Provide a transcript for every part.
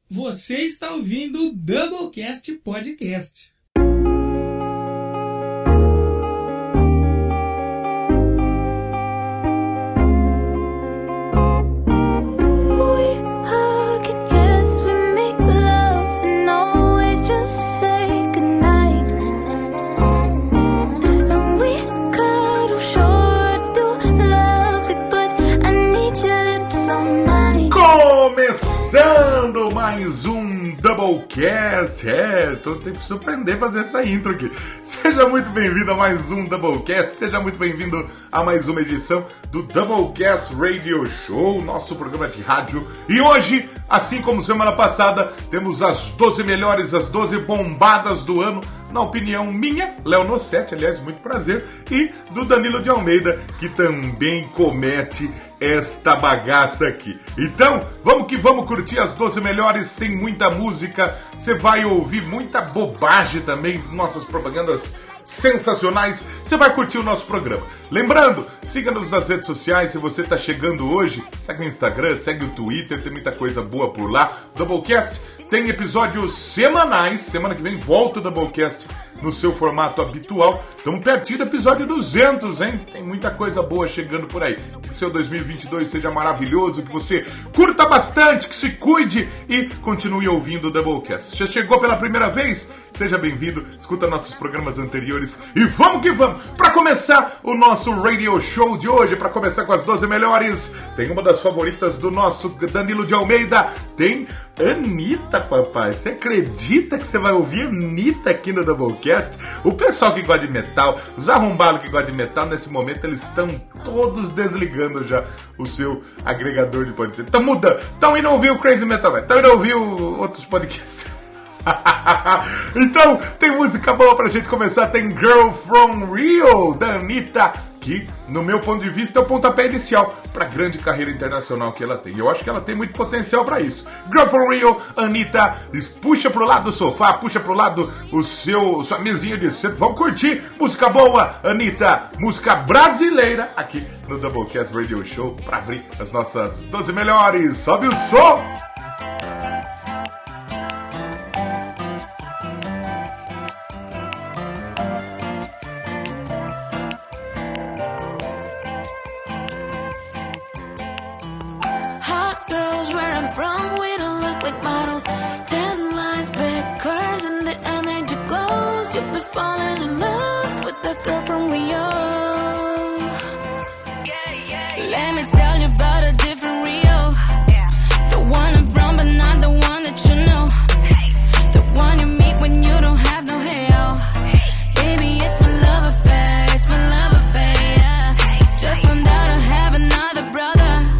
Você está ouvindo o Doublecast Podcast. Começando mais um Doublecast. Tô tendo que surpreender fazer essa intro aqui. Seja muito bem-vindo a mais um Doublecast. Seja muito bem-vindo a mais uma edição do Doublecast Radio Show, nosso programa de rádio. E hoje, assim como semana passada, temos as 12 melhores, as 12 bombadas do ano, na opinião minha, Léo Nossetti, aliás, muito prazer, e do Danilo de Almeida, que também comete esta bagaça aqui. Então, vamos que vamos curtir as 12 melhores, tem muita música, você vai ouvir muita bobagem também, nossas propagandas sensacionais, você vai curtir o nosso programa. Lembrando, siga-nos nas redes sociais, se você está chegando hoje, segue o Instagram, segue o Twitter, tem muita coisa boa por lá. Doublecast tem episódios semanais, semana que vem volta o Doublecast no seu formato habitual. Estamos pertinho do episódio 200, hein? Tem muita coisa boa chegando por aí. Que seu 2022 seja maravilhoso, que você curta bastante, que se cuide e continue ouvindo o Doublecast. Já chegou pela primeira vez? Seja bem-vindo, escuta nossos programas anteriores e vamos que vamos! Para começar o nosso radio show de hoje, para começar com as 12 melhores, tem uma das favoritas do nosso Danilo de Almeida, tem Anitta, papai. Você acredita que você vai ouvir Anitta aqui no Doublecast? O pessoal que gosta de metal, os arrombados que gostam de metal, nesse momento eles estão todos desligando já o seu agregador de podcast. Estão mudando, estão indo ouvir o Crazy Metal, estão indo ouvir outros podcasts. Então, tem música boa pra gente começar. Tem Girl From Rio, da Anitta, que, no meu ponto de vista, é o pontapé inicial pra grande carreira internacional que ela tem. Eu acho que ela tem muito potencial pra isso. Girl From Rio, Anitta, puxa pro lado do sofá, puxa pro lado sua mesinha de centro. Vamos curtir música boa, Anitta, música brasileira, aqui no Doublecast Radio Show, pra abrir as nossas 12 melhores. Sobe o som! From we don't look like models. 10 lines, big curves, and the energy glows. You'll be falling in love with the girl from Rio. Let me tell you about a different Rio. The one I'm from, but not the one that you know. The one you meet when you don't have no hair. Baby, it's my love affair, it's my love affair, yeah. Just found out I have another brother.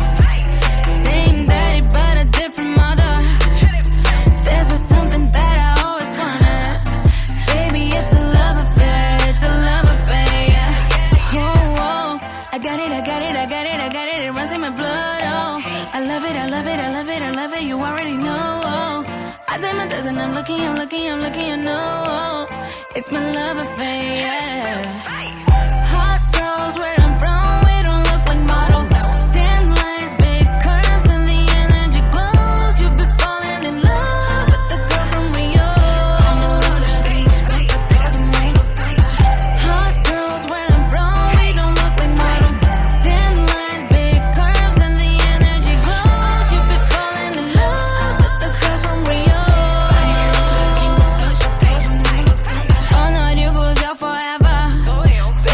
You already know. I did my best and I'm lucky, you know. It's my love affair, yeah. Hot girls where I'm from, we don't look like models. 10 lines, big curves, and the energy glows. You'll be falling in love with the girl from Rio. Hot girls where I'm from, we don't look like models. 10 lines, big curves, and the energy glows. You'll be falling in love with the girl from Rio. Oh no, you goes out forever.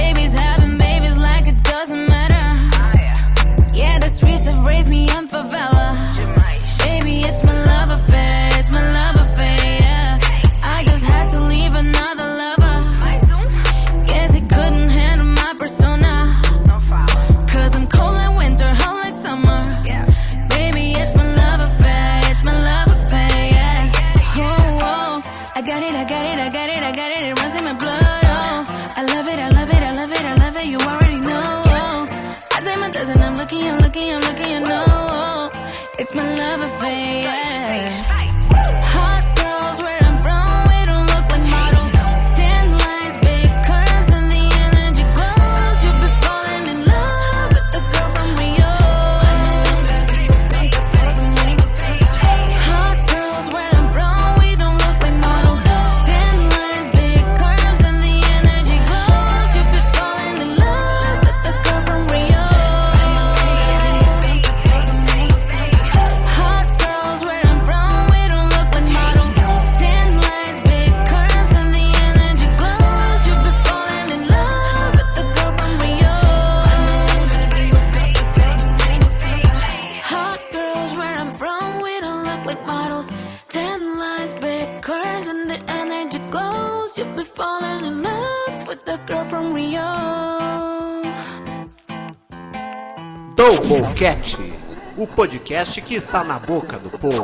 models, 10 lines, big curves, and the energy glows. You'll be falling in love with the girl from Rio. Doublecast, o podcast que está na boca do povo.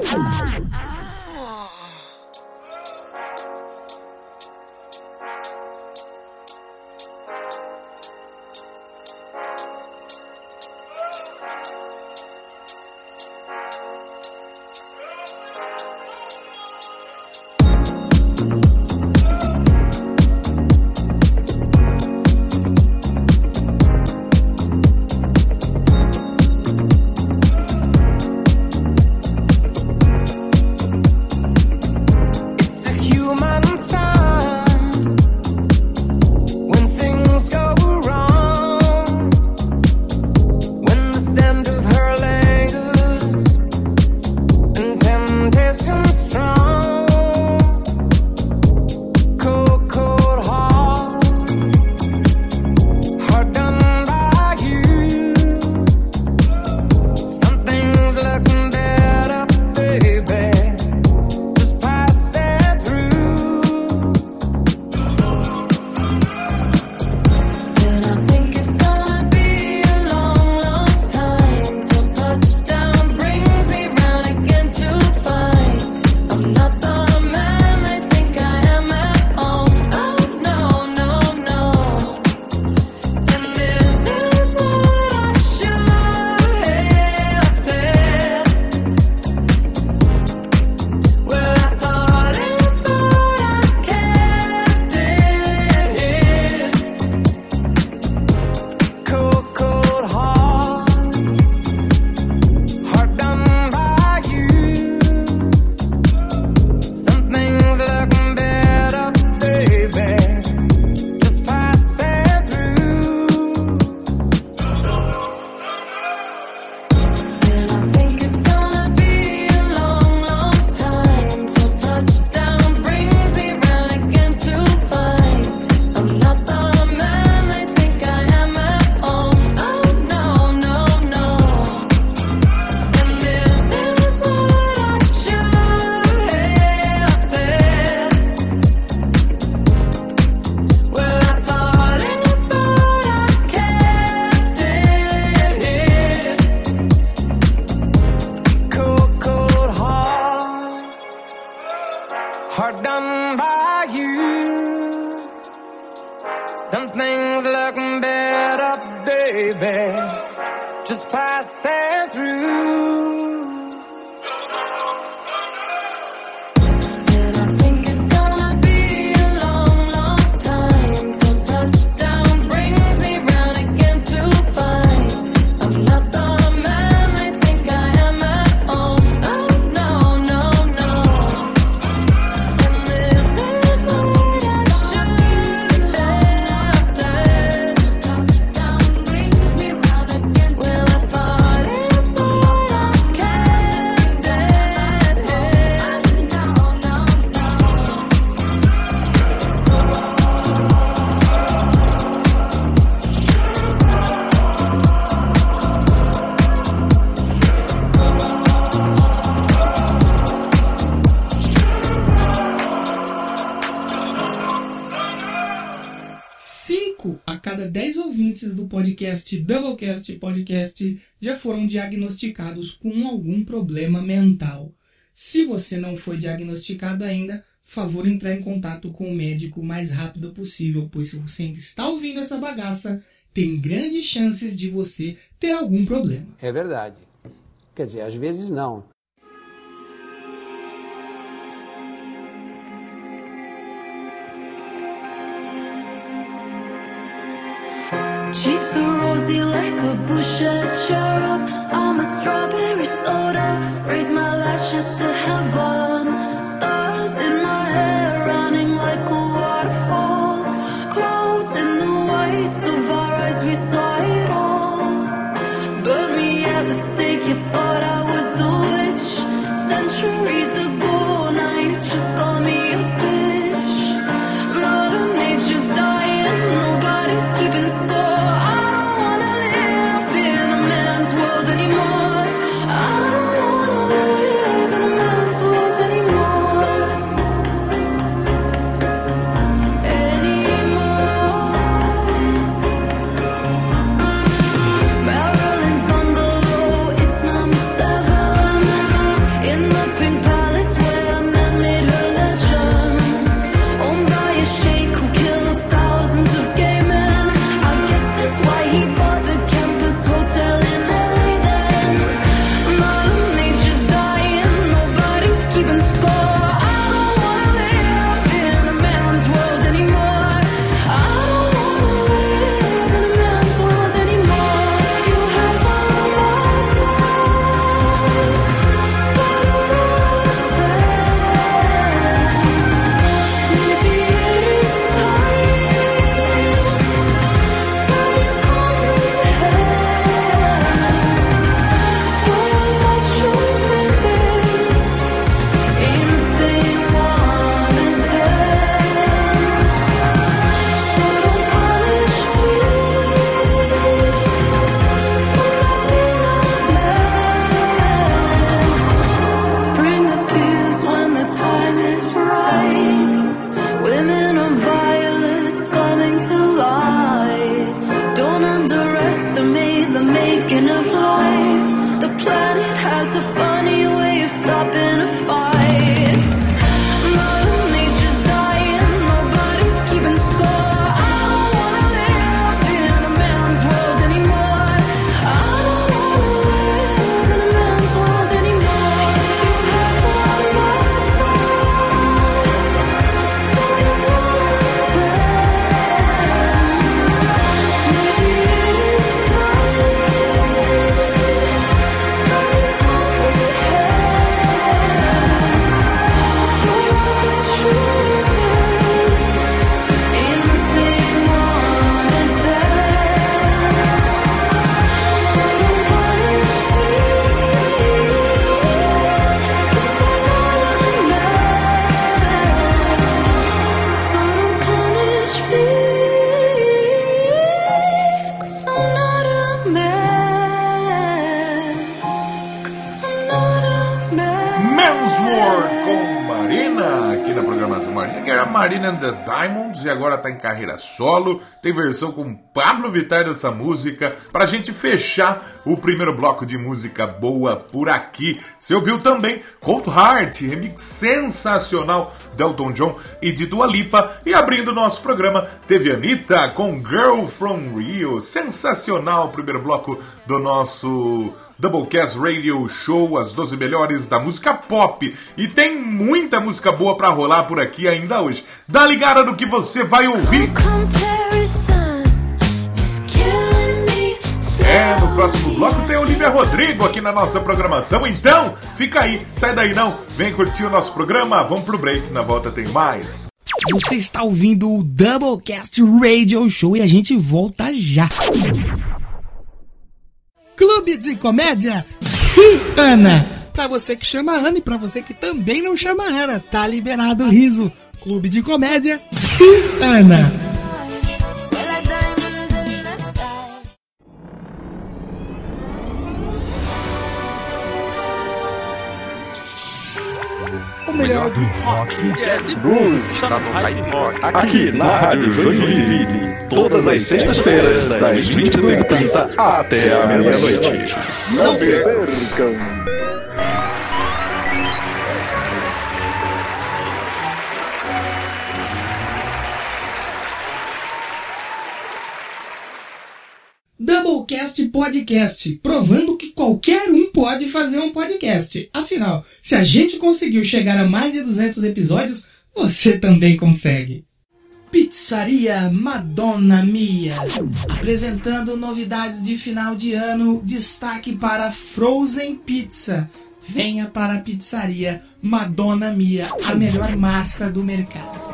Do podcast Doublecast Podcast já foram diagnosticados com algum problema mental. Se você não foi diagnosticado ainda, favor entrar em contato com o médico o mais rápido possível, pois se você ainda está ouvindo essa bagaça, tem grandes chances de você ter algum problema. É verdade. Quer dizer, às vezes não. Cheeks are rosy like a bush cherub. I'm a strawberry soda. Raise my lashes to heaven. Stars in my hair running like a waterfall. Clouds in the whites of our eyes, we saw it all. Burn me at the stake, you thought I was a witch. Centuries ago, now you just call me a bitch. Mother Nature's dying, nobody's keeping score. Anymore. I don't wanna live in a man's com Marina aqui na programação. Marina, que era Marina and the Diamonds e agora tá em carreira solo. Tem versão com Pablo Vittar dessa música. Pra gente fechar o primeiro bloco de música boa por aqui. Você ouviu também Cold Heart, remix sensacional de Elton John e de Dua Lipa. E abrindo o nosso programa, teve Anitta com Girl from Rio. Sensacional o primeiro bloco do nosso Doublecast Radio Show, as 12 melhores da música pop. E tem muita música boa pra rolar por aqui ainda hoje. Dá ligada no que você vai ouvir. No próximo bloco tem Olivia Rodrigo aqui na nossa programação. Então, fica aí, sai daí não. Vem curtir o nosso programa, vamos pro break, na volta tem mais. Você está ouvindo o Doublecast Radio Show e a gente volta já. Clube de Comédia Ana. Pra você que chama Ana e pra você que também não chama Ana, tá liberado o riso. Clube de Comédia Ana. O melhor do rock, jazz e blues está no Hype Rock. Aqui na Rádio Joinville. Todas as sextas-feiras, das 22h30 até a meia-noite. Não percam! Doublecast Podcast, provando que qualquer um pode fazer um podcast. Afinal, se a gente conseguiu chegar a mais de 200 episódios, você também consegue. Pizzaria Madonna Mia, apresentando novidades de final de ano, destaque para Frozen Pizza. Venha para a Pizzaria Madonna Mia, a melhor massa do mercado.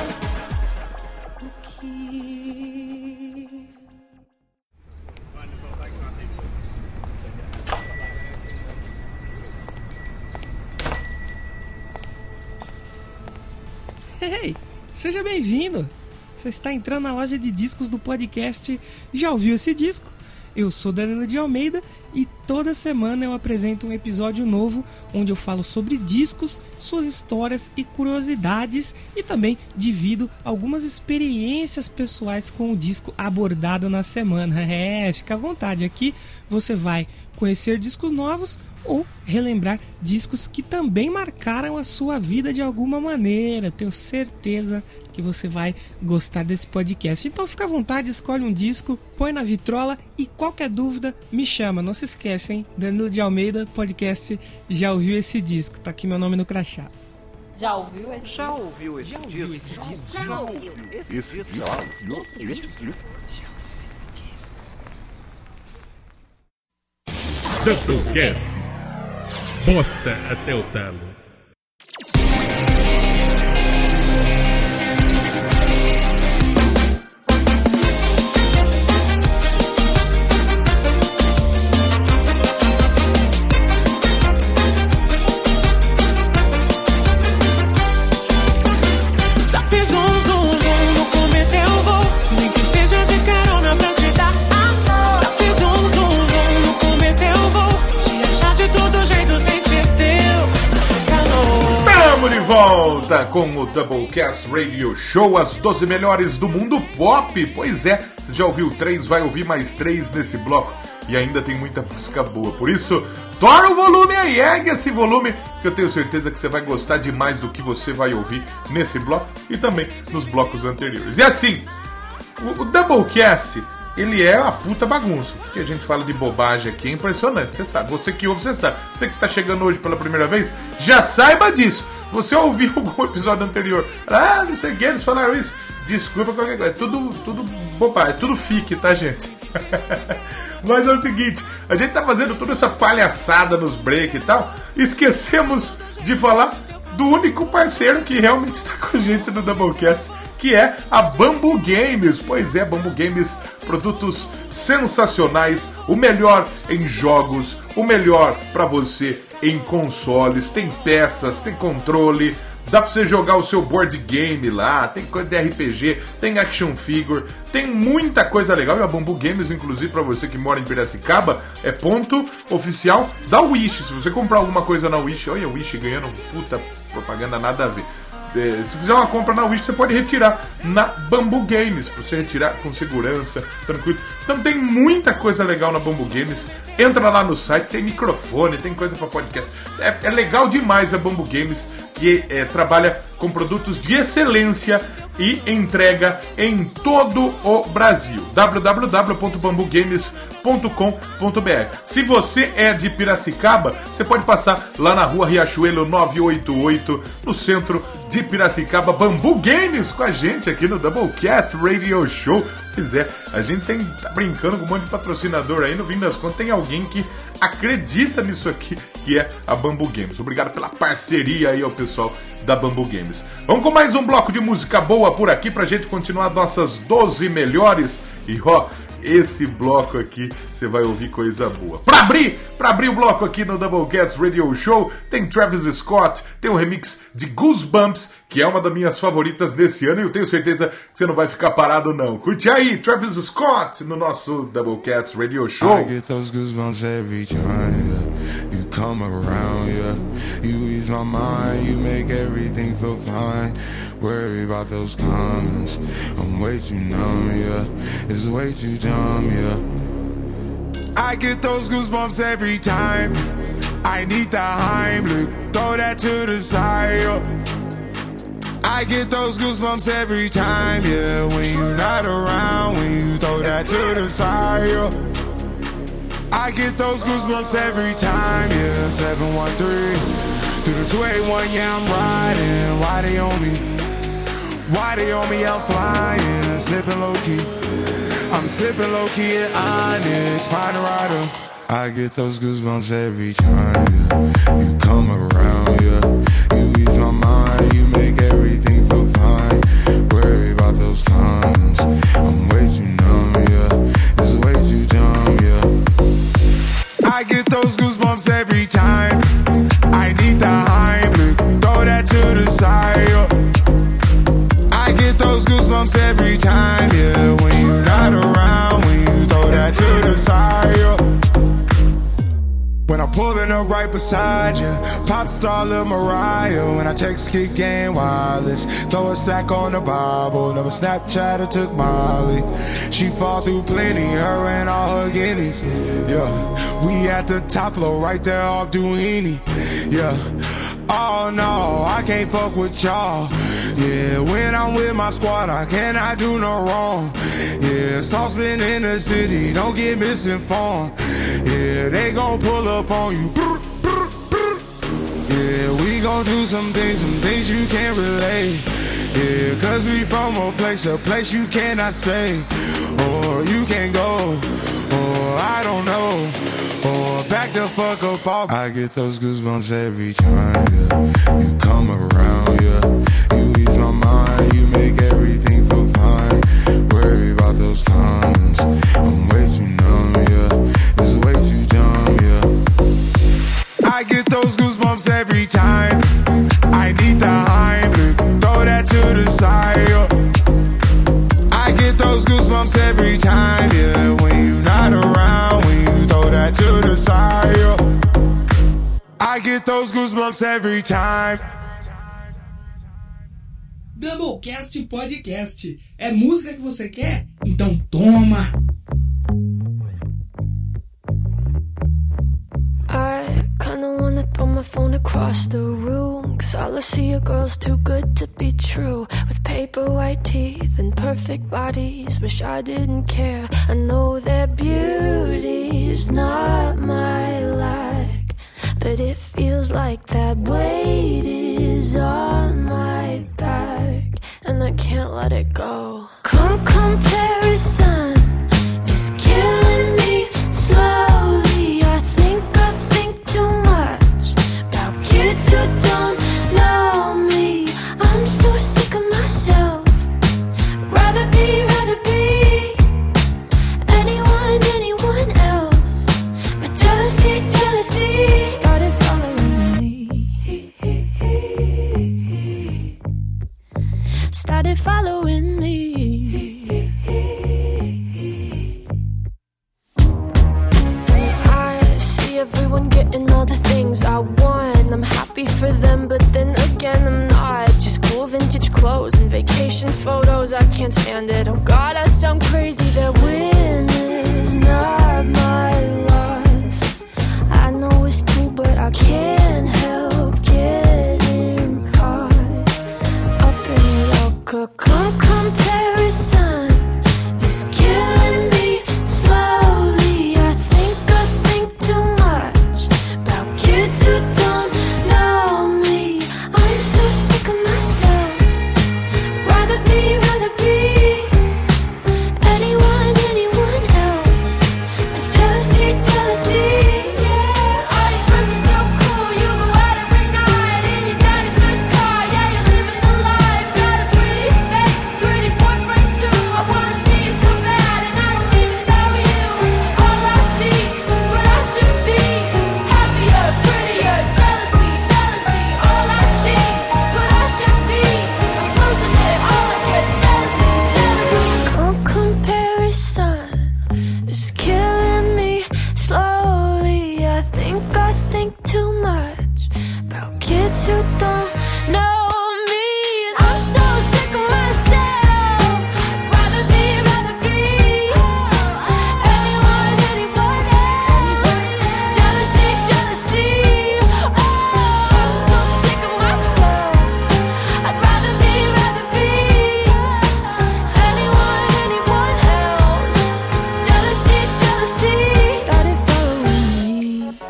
Hey, seja bem-vindo! Você está entrando na loja de discos do podcast Já Ouviu Esse Disco? Eu sou Danilo de Almeida e toda semana eu apresento um episódio novo onde eu falo sobre discos, suas histórias e curiosidades e também divido algumas experiências pessoais com o disco abordado na semana. Fica à vontade, aqui você vai conhecer discos novos ou relembrar discos que também marcaram a sua vida de alguma maneira. Tenho certeza que você vai gostar desse podcast. Então fica à vontade, escolhe um disco, põe na vitrola e qualquer dúvida me chama. Não se esqueça, hein? Danilo de Almeida, podcast Já Ouviu Esse Disco? Tá aqui meu nome no crachá. Já ouviu esse disco? Já ouviu esse disco? Já ouviu esse disco? Doublecast. Bosta até o talo. Volta com o Doublecast Radio Show, as 12 melhores do mundo pop. Pois é, você já ouviu 3, vai ouvir mais 3 nesse bloco. E ainda tem muita música boa. Por isso, tora o volume aí, ergue esse volume, que eu tenho certeza que você vai gostar demais do que você vai ouvir nesse bloco e também nos blocos anteriores. E assim, o Doublecast, ele é uma puta bagunça. O que a gente fala de bobagem aqui é impressionante, você sabe. Você que ouve, você sabe. Você que tá chegando hoje pela primeira vez, já saiba disso. Você ouviu algum episódio anterior? Não sei o que, eles falaram isso. Desculpa qualquer coisa. É tudo bobagem, é tudo fique, tá, gente? Mas é o seguinte, a gente tá fazendo toda essa palhaçada nos break e tal. Esquecemos de falar do único parceiro que realmente está com a gente no Doublecast, que é a Bambu Games. Pois é, Bambu Games, produtos sensacionais, o melhor em jogos, o melhor pra você em consoles, tem peças, tem controle, dá pra você jogar o seu board game lá, tem coisa de RPG, tem action figure, tem muita coisa legal. E a Bambu Games, inclusive, pra você que mora em Piracicaba, é ponto oficial da Wish. Se você comprar alguma coisa na Wish, olha a Wish ganhando puta propaganda, nada a ver. Se fizer uma compra na Wish, você pode retirar na Bambu Games, pra você retirar com segurança, tranquilo. Então tem muita coisa legal na Bambu Games. Entra lá no site, tem microfone, tem coisa pra podcast. É legal demais a Bambu Games, que trabalha com produtos de excelência e entrega em todo o Brasil. www.bambugames.com.br. Se você é de Piracicaba, você pode passar lá na rua Riachuelo 988, no centro de Piracicaba. Bambu Games com a gente aqui no Doublecast Radio Show. Pois é, a gente tá brincando com um monte de patrocinador aí, no fim das contas tem alguém que acredita nisso aqui, que é a Bambu Games. Obrigado pela parceria aí ao pessoal da Bambu Games. Vamos com mais um bloco de música boa por aqui pra gente continuar nossas 12 melhores. E esse bloco aqui você vai ouvir coisa boa. Pra abrir o bloco aqui no Doublecast Radio Show, tem Travis Scott, tem um remix de Goosebumps, que é uma das minhas favoritas desse ano, e eu tenho certeza que você não vai ficar parado não. Curte aí, Travis Scott, no nosso Doublecast Radio Show. I get those goosebumps every time, yeah. You come around, yeah. You ease my mind, you make everything feel fine. Worry about those comments, I'm way too numb, yeah. It's way too dumb, yeah. I get those goosebumps every time. I need the Heimlich, throw that to the side, yeah. I get those goosebumps every time, yeah. When you're not around, when you throw that to the side, yeah. I get those goosebumps every time, yeah. 713 through the 281, yeah, I'm riding. Why they on me? Why they on me? I'm flying, sipping low key. I'm sipping low key at Onyx, find a rider. I get those goosebumps every time, yeah. You come around, yeah. You ease my mind, you make everything feel fine. Worry about those comments, I'm way too numb, yeah. It's way too dumb, yeah. I get those goosebumps every time. I need the Heimlich, throw that to the side, yeah. I get those goosebumps every time, yeah. When you're not around, when you throw that to the side, yeah. When I'm pulling up right beside you, pop star Lil Mariah. When I text Kick Game Wireless, throw a stack on the Bible. Never Snapchat or took Molly. She fall through plenty, her and all her guineas. Yeah, we at the top floor, right there off Duini. Yeah, oh no, I can't fuck with y'all. Yeah, when I'm with my squad, I cannot do no wrong. Yeah, saucepan in the city, don't get misinformed. Yeah, they gon' pull up on you. Yeah, we gon' do some things you can't relate. Yeah, cause we from a place you cannot stay. Or you can't go, or I don't know. Or back the fuck up off. I get those goosebumps every time, yeah. You come around, yeah. You ease my mind, you make everything feel fine. Worry about those comments, I'm way too numb, yeah. It's way too dumb, yeah. I get those goosebumps every time. I need the Heimlich, throw that to the side, yeah. I get those goosebumps every time, yeah. When you're not around, when you throw that to the side, yeah. I get those goosebumps every time. Doublecast Podcast. É música que você quer? Então toma! I kinda wanna throw my phone across the room, 'cause all I see are girls too good to be true, with paper white teeth and perfect bodies. Wish I didn't care. I know their beauty's not my like, but it feels like that weight is on my back, and I can't let it go. Comparison is killing me slowly. I think too much about kids who don't know me. I'm so sick of myself. Rather be anyone else. But jealousy started following me. started following me. Everyone getting all the things I want. I'm happy for them, but then again I'm not. Just cool vintage clothes and vacation photos, I can't stand it. Oh God, I sound crazy. That win is not my loss. I know it's true, but I can't help getting caught up in your comparison is killing me slowly. I think too much about kids who don't know me. I'm so sick of myself. Rather be anyone else. And jealousy, yeah. All your friends are so cool, you go out every night. And your daddy's a good star, yeah, you're living the life. Got a pretty face, pretty boyfriend too. I wanna be so bad, and I don't even know you. All I see is what I should be. Happier, prettier, jealousy. All I see is what I should be. I'm losing it, all I get jealousy. Comparison is killing me slowly. I think too much about kids who don't know me. And I'm so sick of myself. Rather be anyone else. Jealousy. Oh, I'm so sick of myself. I'd rather be anyone else. Jealousy. Started following me.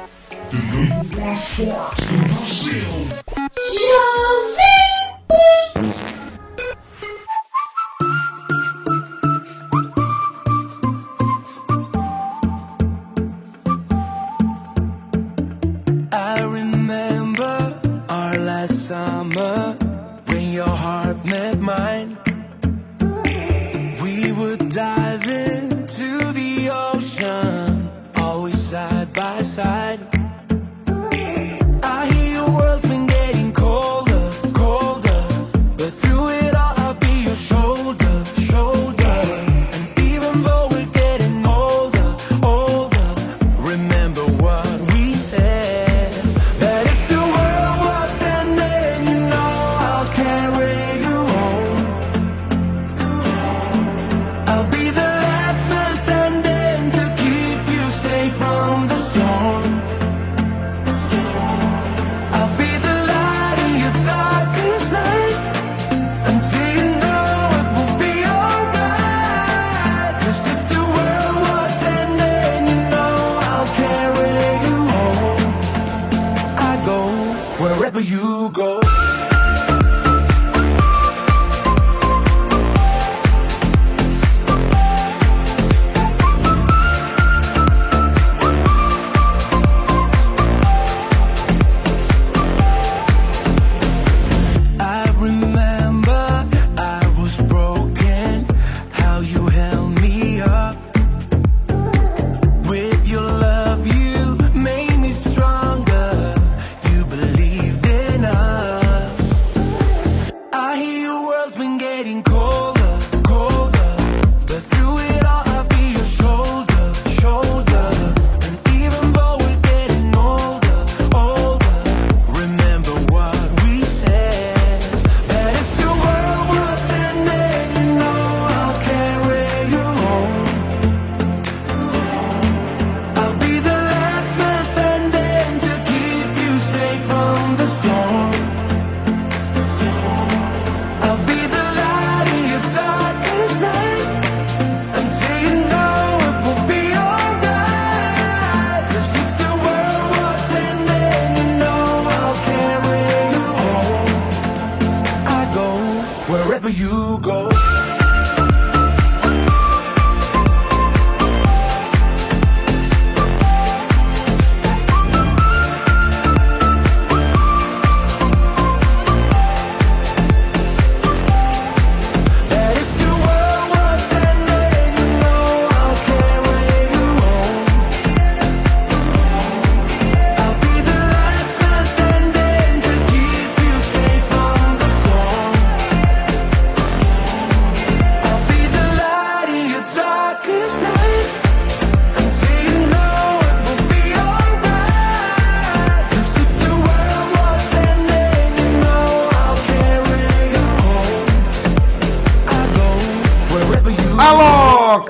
I remember our last summer when your heart met mine. We would dive into the ocean, always side by side. I hear your world's been getting colder, but through it all I'll be your shoulder. And even though we're getting older, remember what we said. That if the world was ending, you know I'll carry you home.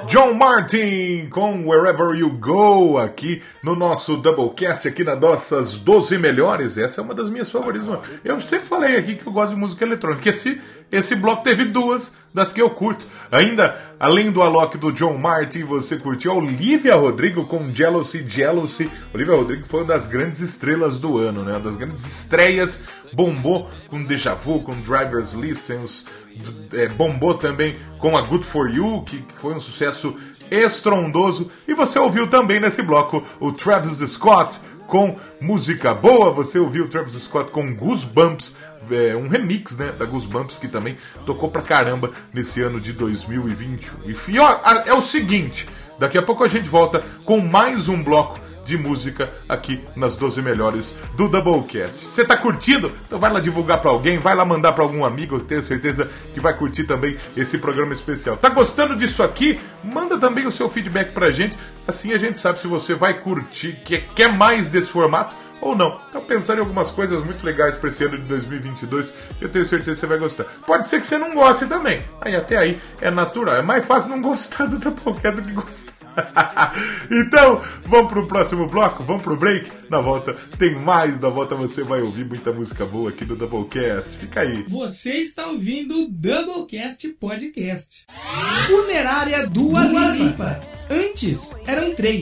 John Martin com Wherever You Go, aqui no nosso Doublecast, aqui nas nossas 12 melhores. Essa é uma das minhas favoritas. Eu sempre falei aqui que eu gosto de música eletrônica. Esse bloco teve duas das que eu curto. Ainda, além do Alok do John Martin, você curtiu a Olivia Rodrigo com Jealousy, Jealousy. Olivia Rodrigo foi uma das grandes estrelas do ano, né? Uma das grandes estreias. Bombou com Deja Vu, com Driver's License. Bombou também com a Good For You, que foi um sucesso estrondoso. E você ouviu também nesse bloco o Travis Scott com música boa. Você ouviu o Travis Scott com Goosebumps, um remix, né, da Goosebumps, que também tocou pra caramba nesse ano de 2021. E ó, é o seguinte, daqui a pouco a gente volta com mais um bloco de música aqui nas 12 melhores do Doublecast. Você tá curtindo? Então vai lá divulgar pra alguém, vai lá mandar pra algum amigo, eu tenho certeza que vai curtir também esse programa especial. Tá gostando disso aqui? Manda também o seu feedback pra gente, assim a gente sabe se você vai curtir, quer mais desse formato ou não. Tá pensando em algumas coisas muito legais para esse ano de 2022, eu tenho certeza que você vai gostar. Pode ser que você não goste também, até aí é natural, é mais fácil não gostar do Doublecast do que gostar. Então, vamos pro próximo bloco, vamos pro break. Na volta tem mais, na volta você vai ouvir muita música boa aqui no Doublecast. Fica aí. Você está ouvindo o Doublecast Podcast. Funerária Dua Lipa. Antes eram 3.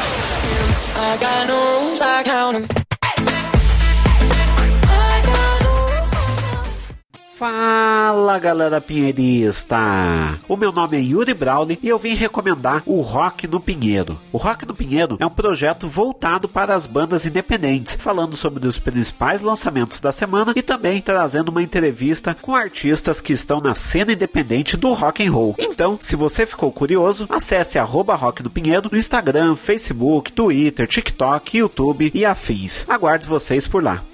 Fala, galera pinheirista! O meu nome é Yuri Brown e eu vim recomendar o Rock no Pinheiro. O Rock no Pinheiro é um projeto voltado para as bandas independentes, falando sobre os principais lançamentos da semana e também trazendo uma entrevista com artistas que estão na cena independente do rock and roll. Então, se você ficou curioso, acesse @Rock no Pinheiro no Instagram, Facebook, Twitter, TikTok, YouTube e afins. Aguardo vocês por lá.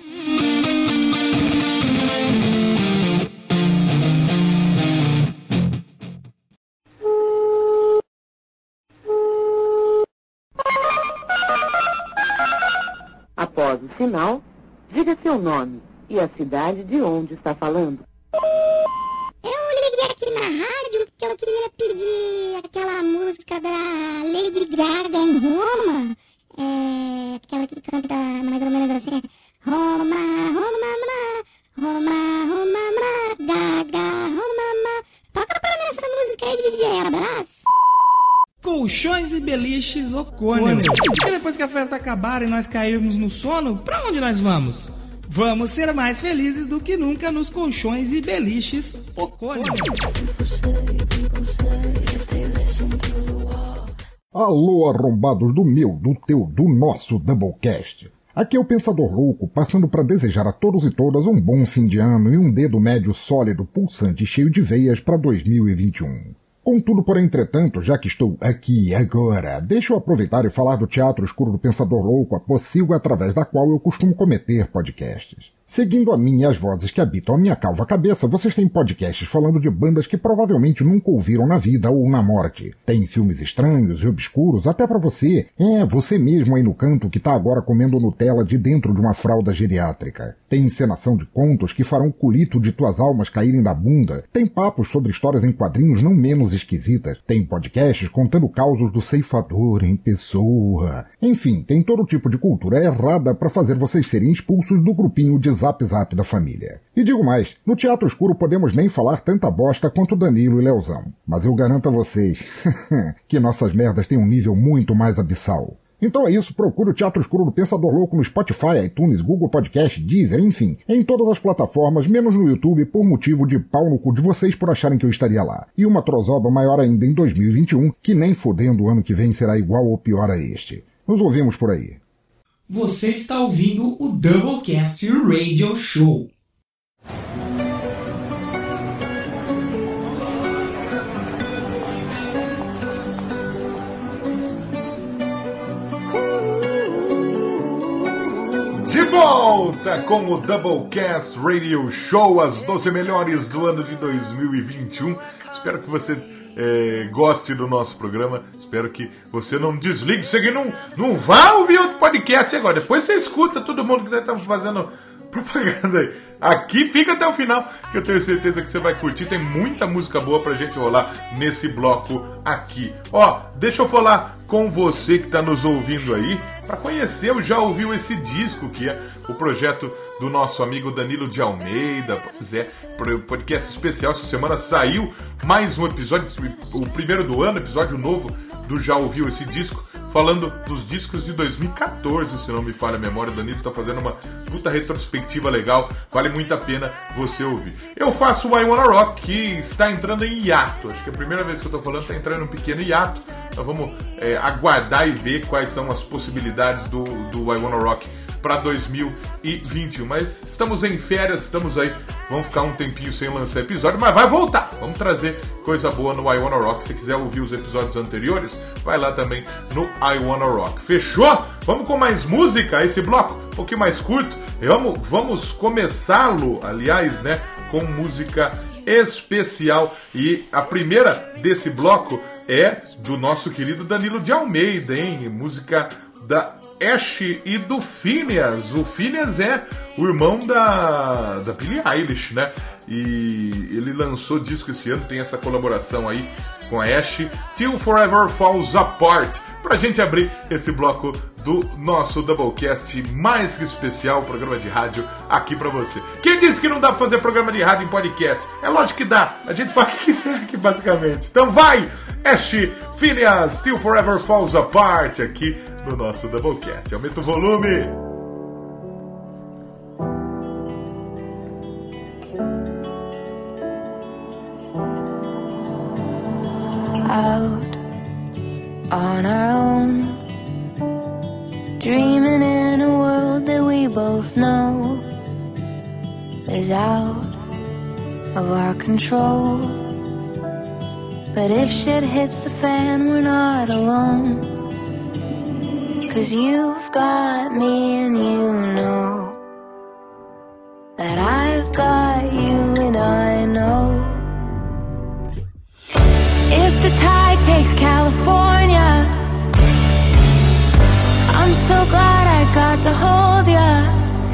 Após o sinal, diga seu nome e a cidade de onde está falando. Eu liguei aqui na rádio porque eu queria pedir aquela música da Lady Gaga em Roma. Aquela que canta mais ou menos assim. Roma, Roma, Roma, Roma, Gaga, Roma. Toca pra mim essa música aí, DJ. Abraço. Colchões e beliches Ocônio. E depois que a festa acabar e nós cairmos no sono, pra onde nós vamos? Vamos ser mais felizes do que nunca nos colchões e beliches Ocônio. Alô, arrombados do meu, do teu, do nosso Doublecast. Aqui é o Pensador Louco, passando para desejar a todos e todas um bom fim de ano e um dedo médio sólido, pulsante e cheio de veias para 2021. Contudo, porém, entretanto, já que estou aqui agora, deixa eu aproveitar e falar do Teatro Escuro do Pensador Louco, a pocilga através da qual eu costumo cometer podcasts. Seguindo a mim e as vozes que habitam a minha calva cabeça, vocês têm podcasts falando de bandas que provavelmente nunca ouviram na vida ou na morte. Tem filmes estranhos e obscuros até pra você. Você mesmo aí no canto que tá agora comendo Nutella de dentro de uma fralda geriátrica. Tem encenação de contos que farão o culito de tuas almas caírem da bunda. Tem papos sobre histórias em quadrinhos não menos esquisitas. Tem podcasts contando causos do ceifador em pessoa. Enfim, tem todo tipo de cultura errada pra fazer vocês serem expulsos do grupinho de Zap Zap da família. E digo mais, no Teatro Escuro podemos nem falar tanta bosta quanto Danilo e Leozão. Mas eu garanto a vocês que nossas merdas têm um nível muito mais abissal. Então é isso, procure o Teatro Escuro do Pensador Louco no Spotify, iTunes, Google Podcast, Deezer, enfim, em todas as plataformas, menos no YouTube, por motivo de pau no cu de vocês por acharem que eu estaria lá. E uma trozoba maior ainda em 2021, que nem fodendo o ano que vem será igual ou pior a este. Nos ouvimos por aí. Você está ouvindo o Doublecast Radio Show. De volta com o Doublecast Radio Show, as 12 melhores do ano de 2021. Espero que você goste do nosso programa. Espero que você não desligue. Você que não vá ouvir outro podcast agora. Depois você escuta todo mundo que nós estamos fazendo propaganda aí. Aqui fica até o final, que eu tenho certeza que você vai curtir. Tem muita música boa pra gente rolar nesse bloco aqui. Ó, deixa eu falar com você que tá nos ouvindo aí, pra conhecer ou já ouviu esse disco, que é o projeto do nosso amigo Danilo de Almeida. Pois é, podcast especial. Essa semana saiu mais um episódio, o primeiro do ano, episódio novo do Já Ouviu Esse Disco, falando dos discos de 2014, se não me falha a memória. O Danilo tá fazendo uma puta retrospectiva legal, vale muito a pena você ouvir. Eu faço o I Wanna Rock, que está entrando em hiato, acho que é a primeira vez que eu tô falando, tá entrando em um pequeno hiato, então vamos aguardar e ver quais são as possibilidades do I Wanna Rock para 2021, mas estamos em férias, estamos aí, vamos ficar um tempinho sem lançar episódio, mas vai voltar, vamos trazer coisa boa no I Wanna Rock. Se quiser ouvir os episódios anteriores, vai lá também no I Wanna Rock. Fechou? Vamos com mais música, esse bloco um pouquinho mais curto, vamos começá-lo, aliás, né, com música especial, e a primeira desse bloco é do nosso querido Danilo de Almeida, hein? Música da Ash e do Phineas. O Phineas é o irmão da Billie Eilish, né? E ele lançou disco esse ano, tem essa colaboração aí com a Ash, Till Forever Falls Apart, pra gente abrir esse bloco do nosso Doublecast mais que especial, programa de rádio aqui pra você. Quem disse que não dá pra fazer programa de rádio em podcast? É lógico que dá, a gente faz o que quiser aqui basicamente. Então vai, Ash, Phineas, Till Forever Falls Apart, aqui no nosso Doublecast. Aumenta o volume! Out on our own, dreaming in a world that we both know is out of our control. But if shit hits the fan, we're not alone. 'Cause you've got me and you know that I've got you and I know. If the tide takes California, I'm so glad I got to hold ya.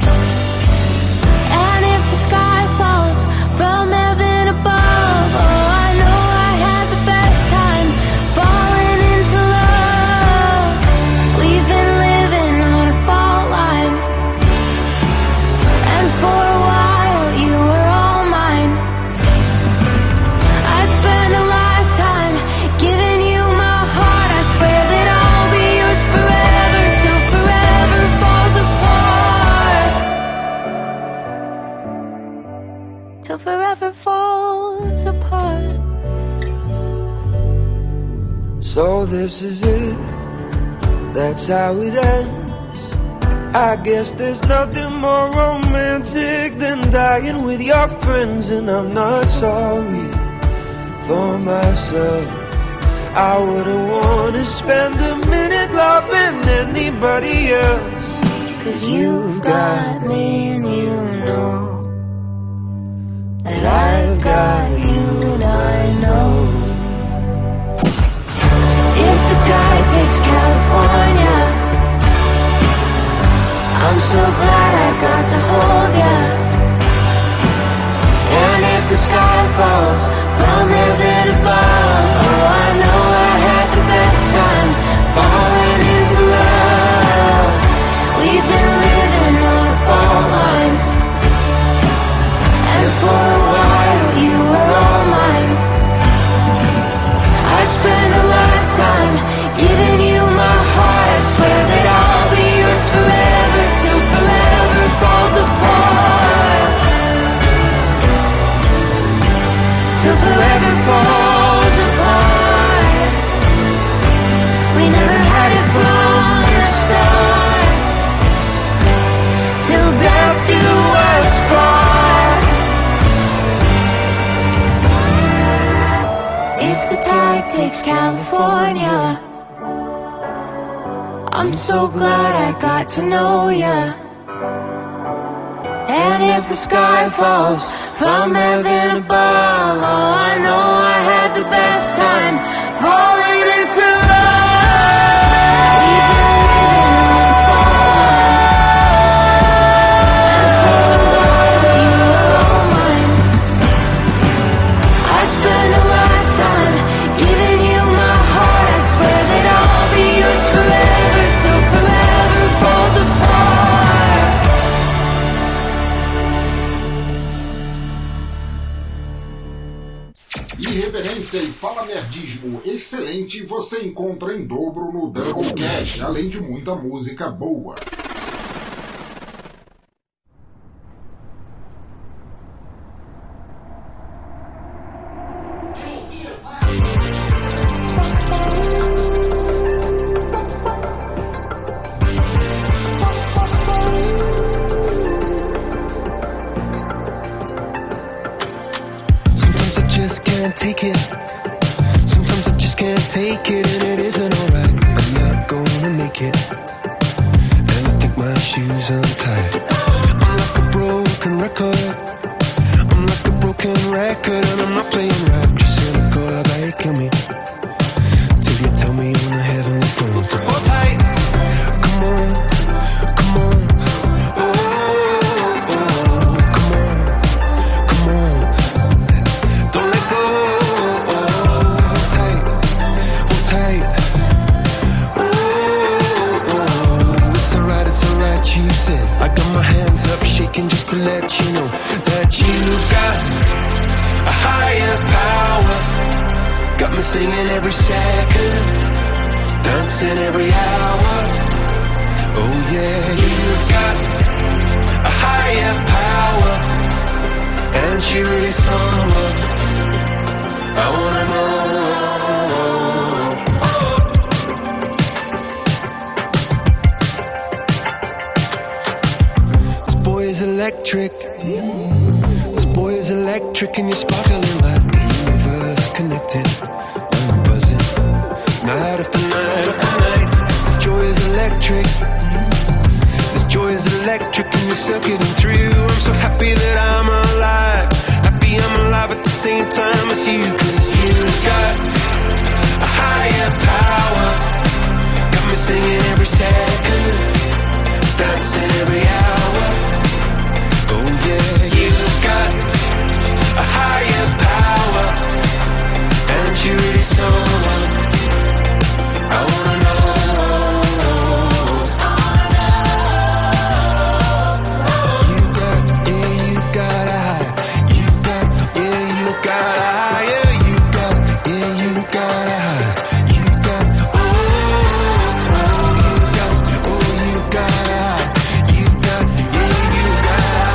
And if the sky falls from heaven above, oh, I know I had the best time falling into love. We've been living on a fault line, and for a while you were all mine. I'd spend a lifetime giving you my heart. I swear that I'll be yours forever, till forever falls apart. Till forever falls apart. So this is it, that's how it ends. I guess there's nothing more romantic than dying with your friends. And I'm not sorry for myself. I wouldn't want to spend a minute loving anybody else. 'Cause you've got me and you know that I've got you and I know. If the tide takes California, I'm so glad I got to hold ya. And if the sky falls from heaven above, oh, I know I had the best time falling into love. We've been living on a fault line, and for a while you were all mine. I spent a lifetime giving you my heart. I swear that I'll be yours forever, till forever falls apart. Till forever falls apart. We never had it from the start. Till death do us part. If the tide takes California, I'm so glad I got to know ya. And if the sky falls from heaven above, oh, I know I had the best time falling into love. We've been living on a fault line, and for Irreverência e falamerdismo excelente você encontra em dobro no Doublecast, além de muita música boa. Take it. Sometimes I just can't take it, and it isn't alright. I'm not gonna make it, and I think my shoes untied. I'm like a broken record. I'm like a broken record, and I'm not playing right. Just cynical, I kill me till you tell me on the heavenly phone. So hold tight, come on, come on. I got my hands up shaking just to let you know that you've got a higher power. Got me singing every second, dancing every hour. Oh yeah, you've got a higher power, and she really someone I wanna know. Electric. This boy is electric, and you're sparkling like the universe connected. I'm buzzing, night after night after night. This joy is electric. This joy is electric, and you're circuiting through. I'm so happy that I'm alive. Happy I'm alive at the same time as you, 'cause you've got a higher power. Got me singing every second, dancing every hour. Oh yeah, you've got a higher power, and you're really someone I wanna know. You got, yeah, you got a high. You got, yeah, you got a higher. You got, yeah, you got a high. You got, oh, you got, oh, you got a high. You got, yeah, you got a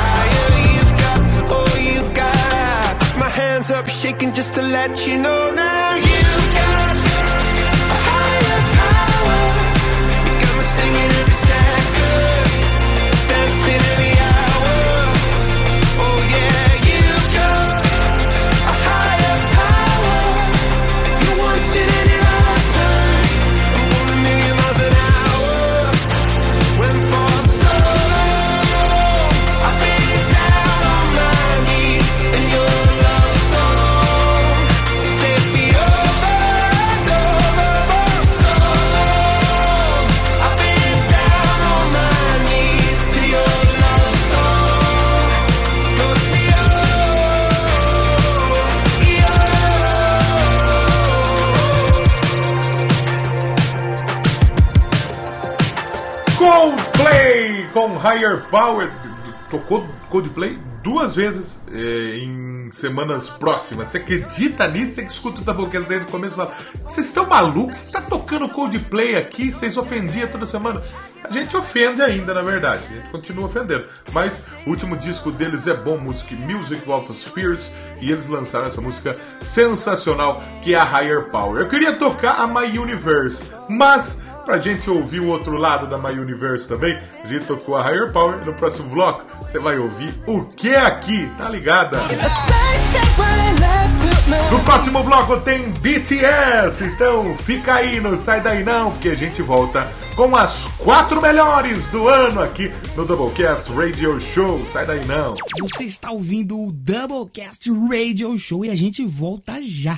up shaking just to let you know now you've got a higher power. You got me singing every second, dancing every hour. Oh yeah, you've got a higher power. You once in any lifetime. I'm going a million miles an hour. When for so long I've been down on my knees in your love song. Set me over and over for so long. I've been down on my knees to your love song. Floats me Coldplay com Higher Power. Tocou Coldplay 2 vezes em semanas próximas. Você acredita nisso? Você que escuta o Doublecast desde o começo e fala: vocês estão malucos? Tá tocando Coldplay aqui? Vocês ofendiam toda semana? A gente ofende ainda, na verdade. A gente continua ofendendo. Mas o último disco deles é bom, Music of Spheres, e eles lançaram essa música sensacional que é a Higher Power. Eu queria tocar a My Universe, mas pra gente ouvir o outro lado da My Universe também, a gente tocou a Higher Power. No próximo bloco você vai ouvir O Que É Aqui, tá ligada? No próximo bloco tem BTS, então fica aí, não sai daí não, porque a gente volta com as 4 melhores do ano aqui no Doublecast Radio Show. Sai daí não. Você está ouvindo o Doublecast Radio Show e a gente volta já.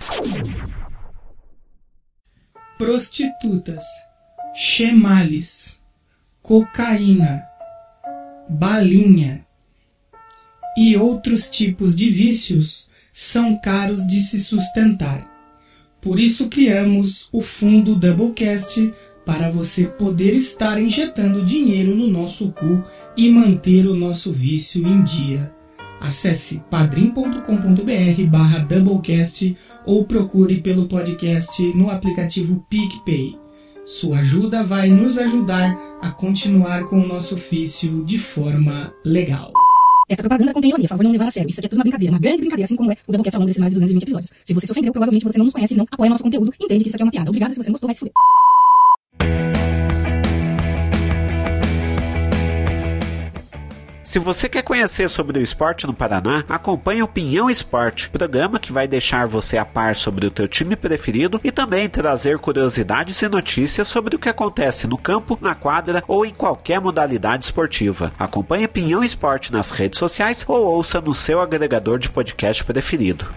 Prostitutas, chemales, cocaína, balinha e outros tipos de vícios são caros de se sustentar. Por isso criamos o Fundo Doublecast para você poder estar injetando dinheiro no nosso cu e manter o nosso vício em dia. Acesse padrim.com.br/doublecast ou procure pelo podcast no aplicativo PicPay. Sua ajuda vai nos ajudar a continuar com o nosso ofício de forma legal. Essa propaganda contém ironia, por favor, não levar a sério. Isso aqui é tudo uma brincadeira, uma grande brincadeira, assim como é o Doublecast ao longo desses mais de 220 episódios. Se você se ofendeu, provavelmente você não nos conhece e não apoia nosso conteúdo e entende que isso aqui é uma piada. Obrigado, se você não gostou, vai se fuder. Se você quer conhecer sobre o esporte no Paraná, acompanhe o Pinhão Esporte, programa que vai deixar você a par sobre o teu time preferido e também trazer curiosidades e notícias sobre o que acontece no campo, na quadra ou em qualquer modalidade esportiva. Acompanhe Pinhão Esporte nas redes sociais ou ouça no seu agregador de podcast preferido.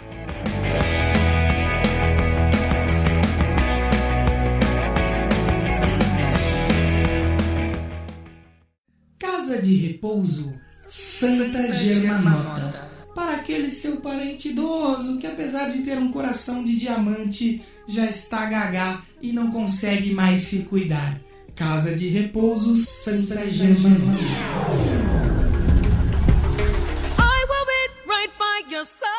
Casa de repouso Santa Germanota. Para aquele seu parente idoso que, apesar de ter um coração de diamante, já está gagá e não consegue mais se cuidar. Casa de repouso Santa Germanota. I will be right by your side.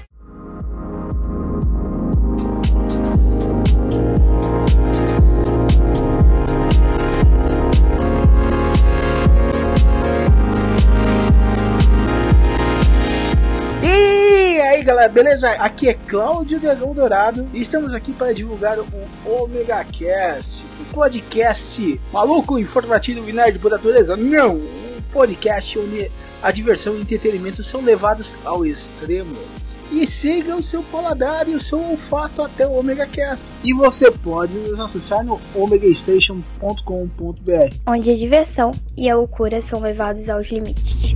E aí galera, beleza? Aqui é Cláudio Dragão Dourado e estamos aqui para divulgar o Omega Cast, um podcast maluco, informativo e nerd por natureza. Não, um podcast onde a diversão e o entretenimento são levados ao extremo. E siga o seu paladar e o seu olfato até o Omega Cast. E você pode nos acessar no omegastation.com.br, onde a diversão e a loucura são levados aos limites.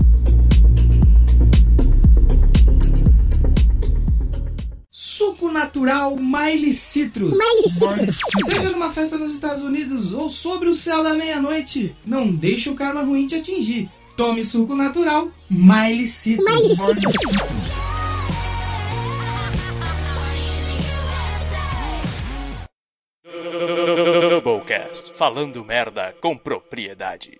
Suco natural Miley Citrus. Seja numa festa nos Estados Unidos ou sobre o céu da meia-noite, não deixe o karma ruim te atingir. Tome suco natural Miley Citrus. Doublecast, falando merda com propriedade.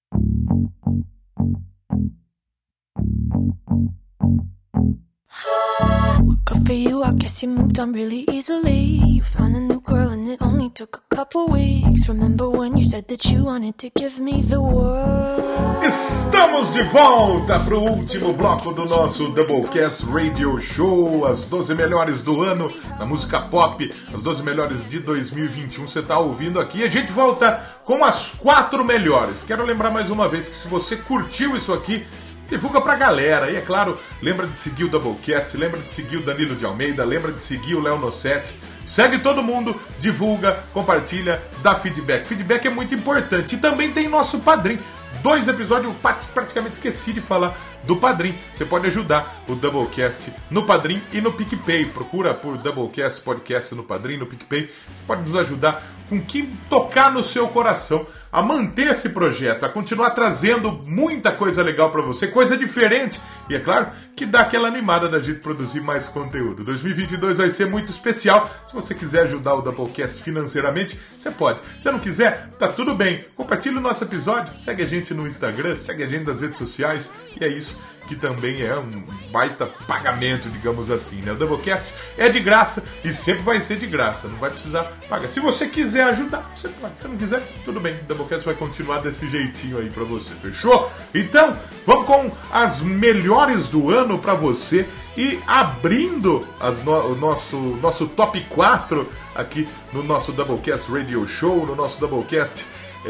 Good for you, I guess you moved on really easily. You found a new girl and it only took a couple weeks. Remember when you said that you wanted to give me the world? Estamos de volta para o último bloco do nosso Doublecast Radio Show. As 12 melhores do ano na música pop, as 12 melhores de 2021. Você está ouvindo aqui. A gente volta com as 4 melhores. Quero lembrar mais uma vez que se você curtiu isso aqui, divulga pra galera. E é claro, lembra de seguir o Doublecast, lembra de seguir o Danilo de Almeida, lembra de seguir o Léo Nossetti. Segue todo mundo, divulga, compartilha, dá feedback. Feedback é muito importante. E também tem nosso Padrim. 2 episódios, eu praticamente esqueci de falar do Padrim. Você pode ajudar o Doublecast no Padrim e no PicPay. Procura por Doublecast Podcast no Padrim, no PicPay. Você pode nos ajudar com o que tocar no seu coração a manter esse projeto, a continuar trazendo muita coisa legal pra você, coisa diferente. E é claro que dá aquela animada da gente produzir mais conteúdo. 2022 vai ser muito especial. Se você quiser ajudar o Doublecast financeiramente, você pode. Se não quiser, tá tudo bem. Compartilha o nosso episódio, segue a gente no Instagram, segue a gente nas redes sociais. E é isso que também é um baita pagamento, digamos assim, né? O Doublecast é de graça e sempre vai ser de graça, não vai precisar pagar. Se você quiser ajudar, você pode. Se não quiser, tudo bem, o Doublecast vai continuar desse jeitinho aí pra você, fechou? Então, vamos com as melhores do ano pra você e abrindo o nosso top 4 aqui no nosso Doublecast Radio Show, no nosso Doublecast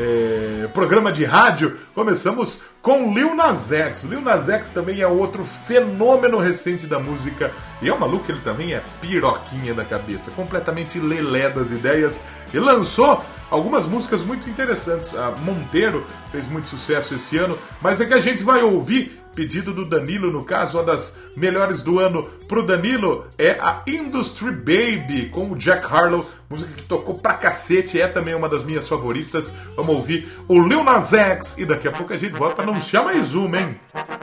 programa de rádio. Começamos com Lil Nas X. Lil Nas X também é outro fenômeno recente da música e é um maluco, ele também é piroquinha da cabeça, completamente lelé das ideias. Ele lançou algumas músicas muito interessantes. A Monteiro fez muito sucesso esse ano, mas é que a gente vai ouvir, pedido do Danilo, no caso, uma das melhores do ano pro Danilo é a Industry Baby, com o Jack Harlow, música que tocou pra cacete, é também uma das minhas favoritas. Vamos ouvir o Lil Nas X e daqui a pouco a gente volta pra anunciar mais uma, hein?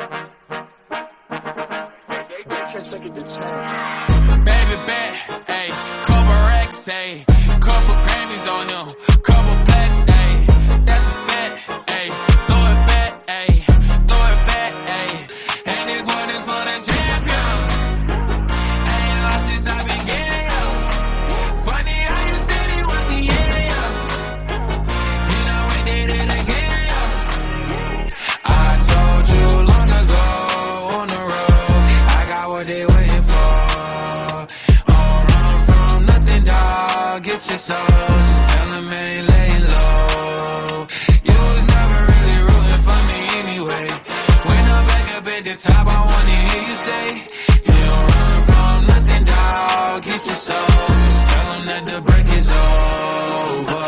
Baby bet, ayy, couple racks, ayy, couple Grammys on him, couple plaques, ayy, that's a fact, ayy, throw it back, ayy, and this one is for get your soul. Just tell him I ain't laying low. You was never really rooting for me anyway. When I'm back up at the top, I wanna hear you say, you don't run from nothing, dog. Get your soul. Just tell him that the break is over.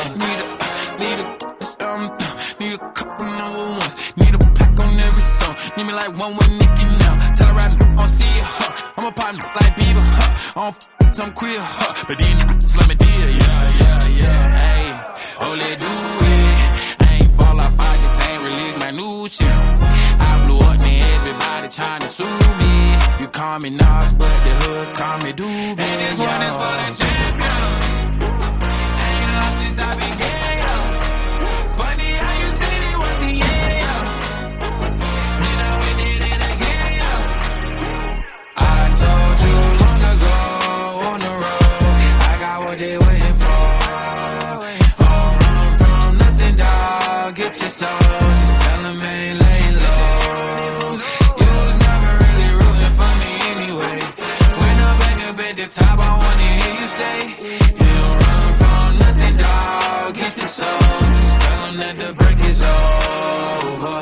Need a couple number ones. Need a pack on every song. Need me like one with Nicki now. Tell her I don't see it, I'm a partner like Bieber, I don't some queer, but then let me deal, yeah. Hey, oh, let do it. I ain't fall off, I just ain't release my new shit. I blew up, man, everybody trying to sue me. You call me Nas, but the hood call me Doobie. And this one is for the champion. I ain't lost since I began, yo. Funny how you said it was the end, then we did it again, yo. I told you long ago on the road, I got what they waiting for. Don't run from nothing, dog. Get your soul. Just tell them I ain't laying low. You was never really rooting for me anyway. When I'm back up at the top, I wanna hear you say, you don't run from nothing, dog. Get your soul. Just tell them that the break is over.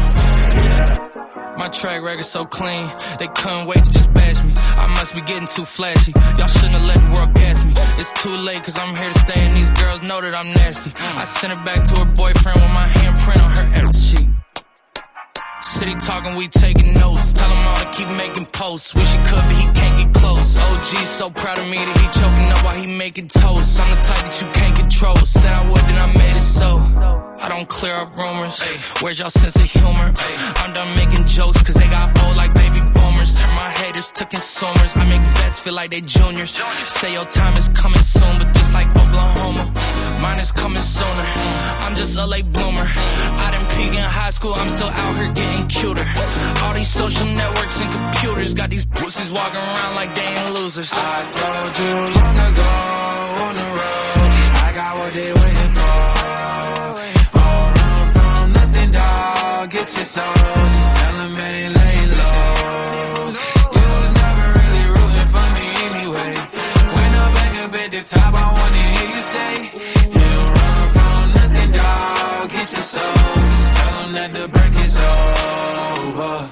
My track record so clean, they couldn't wait to just bash me. I must be getting too flashy. Y'all shouldn't have let the world gas me. It's too late cause I'm here to stay and these girls know that I'm nasty. I sent her back to her boyfriend with my handprint on her ass sheet. City talking, we taking notes. Tell him all to keep making posts. Wish he could, but he can't get close. OG's so proud of me that he choking up while he making toast. I'm the type that you can't control. Said I would, then I made it so. I don't clear up rumors. Where's y'all sense of humor? I'm done making jokes cause they got old like baby boomers. Turn my haters to consumers. I make vets feel like they juniors. Say your time is coming soon, but just like Oklahoma, mine is coming sooner. I'm just a late bloomer. I didn't peak in high school, I'm still out here getting cuter. All these social networks and computers got these pussies walking around like they ain't losers. I told you long ago on the road, I got what they waiting for. Don't run from nothing, dog. Get your soul. Just tell them I ain't laying low. You was never really rooting for me anyway. When I'm back up at the top, I wanna hear you say, you don't run from nothing, dog. Get your soul. Just tell them that the break is over.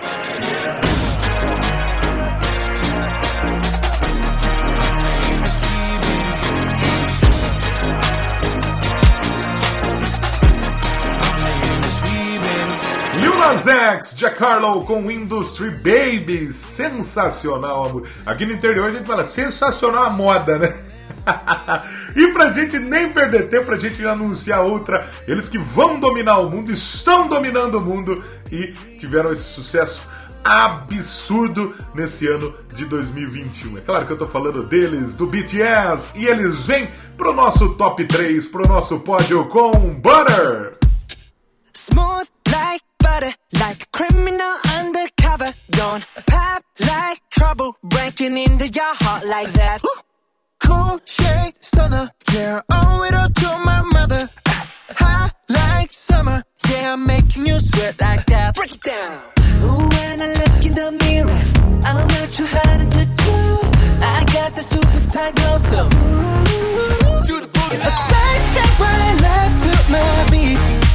Lil Nas X, Jack Harlow com Industry Baby, sensacional. Aqui no interior a gente fala sensacional a moda, né? E pra gente nem perder tempo, pra gente anunciar outra, eles que vão dominar o mundo, estão dominando o mundo e tiveram esse sucesso absurdo nesse ano de 2021. É claro que eu tô falando deles, do BTS, e eles vêm pro nosso top 3, pro nosso pódio com Butter. Smooth like butter, like a criminal undercover. Don't pop like trouble, breaking into your heart like that. Cool shade stunner, yeah, owe it all to my mother. High like summer, yeah, I'm making you sweat like that. Break it down. Ooh, when I look in the mirror, I'm not too hard to do. I got the superstar glow, so ooh, to the booty. A side step right left to my beat.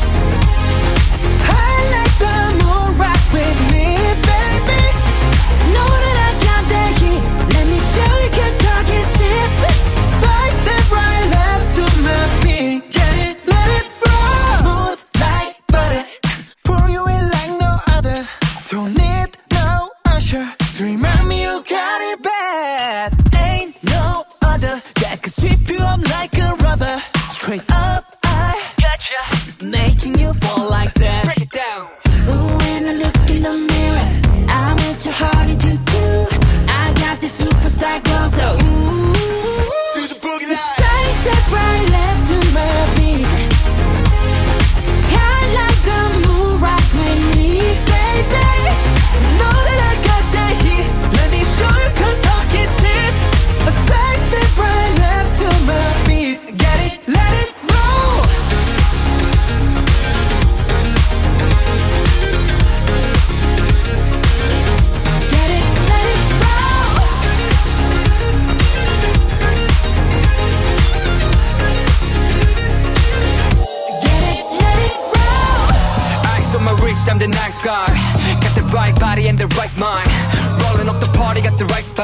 I like the moon, rock with me, baby. Know that I got that heat. Let me show you, 'cause talk is cheap. Side step right left to my beat. Get it, let it roll. Smooth like butter, pour you in like no other. Don't need no usher to remind me you got it bad. Ain't no other that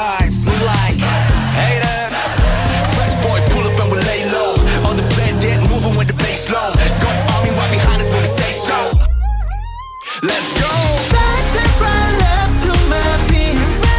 vibes, move like haters. Fresh boy, pull up and we lay low. All the players get moving with the bass low. Got the army right behind us when we say so. Let's go. Fast step right left to my beat.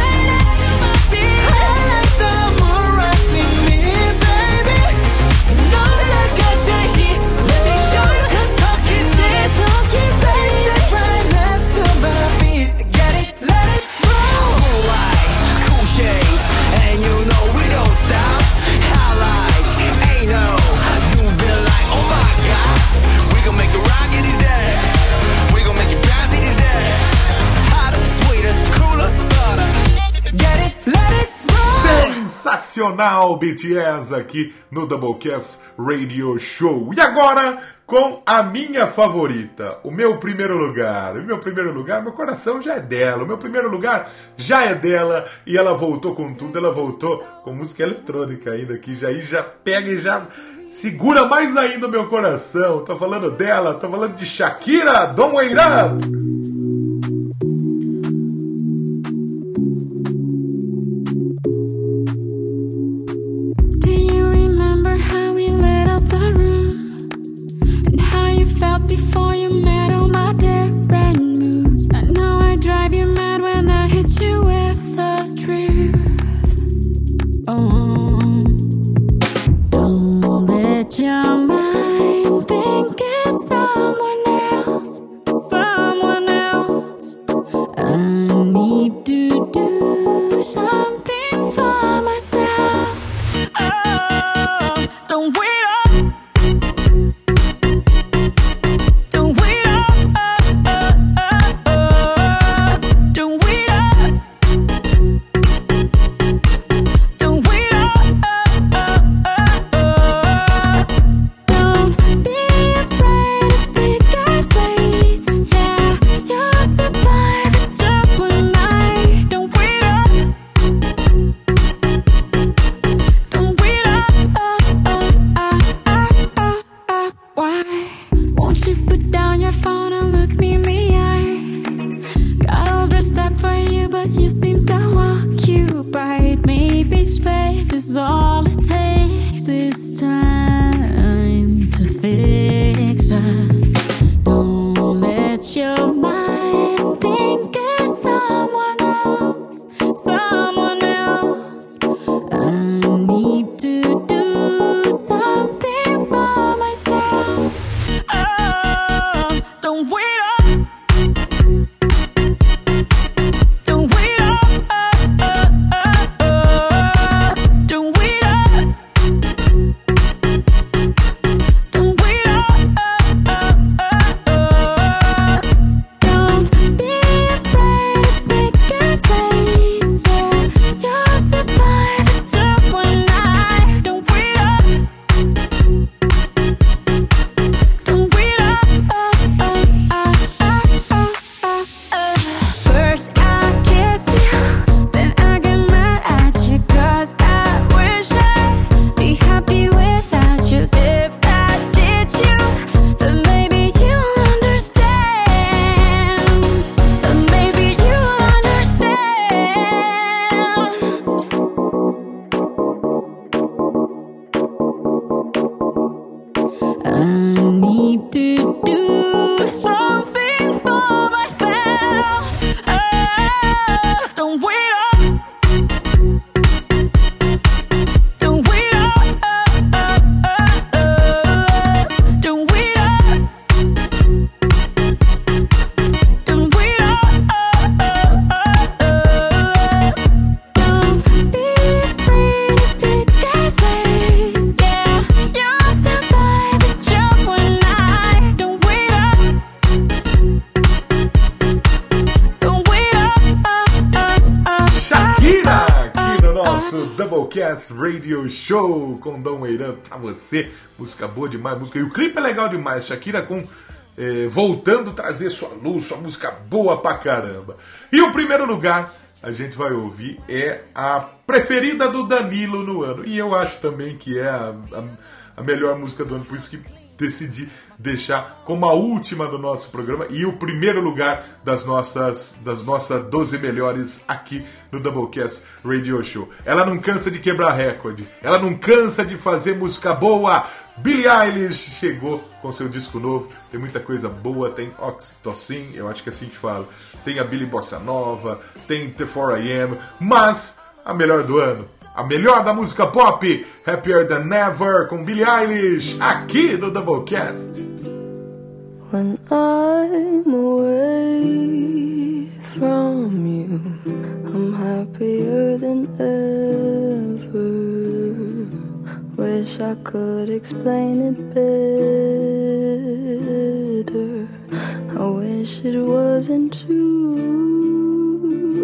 I like the moon right with me, baby. Know that I got the heat. Let me show you 'cause talk is cheap. Fast step right left to my beat. Get it, let it roll. Cool light, cool shade, and you know we don't stop. Highlight, ain't no. You been like, oh my God. We gon' make the rock in his head. We gon' make it bounce in his head. Hotter, sweeter, cooler, butter. Get it, let it roll. Sensacional, BTS, aqui no Doublecast Radio Show. E agora, com a minha favorita, o meu primeiro lugar. O meu primeiro lugar, meu coração já é dela. O meu primeiro lugar já é dela. E ela voltou com tudo, ela voltou com música eletrônica ainda, que já pega e já segura mais ainda o meu coração. Tô falando dela, tô falando de Shakira, Don't Wait Up. Do you remember how we lit up the room? And how you felt before you met all my different moods? I know I drive you mad when I hit you with the truth. Oh, don't let your mind think it's someone else. Someone else. I need to do something for myself. Oh, don't wait up. Don't wait up. Don't wait up. Don't wait up. Don't be afraid if it gets late. Yeah, you'll survive. It's just one night. Don't wait up. Don't wait up. Why won't you put down your phone and look me in the eye? Got all dressed up for you, but you seem so occupied. Maybe space is all it takes this time to fix us. Don't let your mind think it's someone else. Someone else. I need to do something for myself. Oh, don't wait up. Don't wait up. Don't wait up. Don't wait up. Don't be afraid if it gets late. Yeah, you'll survive. It's just one night. Don't wait up. Don't wait up. First I kiss you, then I get mad at you, 'cause I wish I'd be happy without you. If I did you, then maybe you'll understand. Then maybe you'll understand. I need to do something for myself. Oh, don't wait up. Don't wait up. Don't wait up. Don't wait up. Don't be afraid if it gets late. Yeah, you'll survive. It's just one night. Don't wait up. Don't wait up. Shakira, aqui no nosso Doublecast Radio Show com Don't Wait Up pra você. Música boa demais, música. E o clipe é legal demais. Shakira com voltando a trazer sua luz, sua música boa pra caramba. E o primeiro lugar a gente vai ouvir é a preferida do Danilo no ano. E eu acho também que é a melhor música do ano, por isso que decidi deixar como a última do nosso programa e o primeiro lugar das nossas 12 melhores aqui no Doublecast Radio Show. Ela não cansa de quebrar recorde, ela não cansa de fazer música boa. Billie Eilish chegou com seu disco novo, tem muita coisa boa, tem Oxytocin, eu acho que é assim que fala, tem a Billie Bossa Nova, tem The 4am, mas a melhor do ano, a melhor da música pop, Happier Than Ever, com Billie Eilish, aqui no Doublecast. When I'm away from you, I'm happier than ever. Wish I could explain it better. I wish it wasn't true.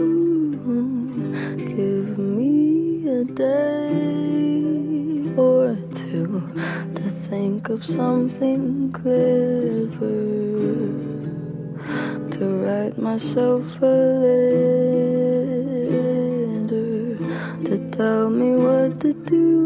Give me a day or two to think of something clever, to write myself a letter, to tell me what to do.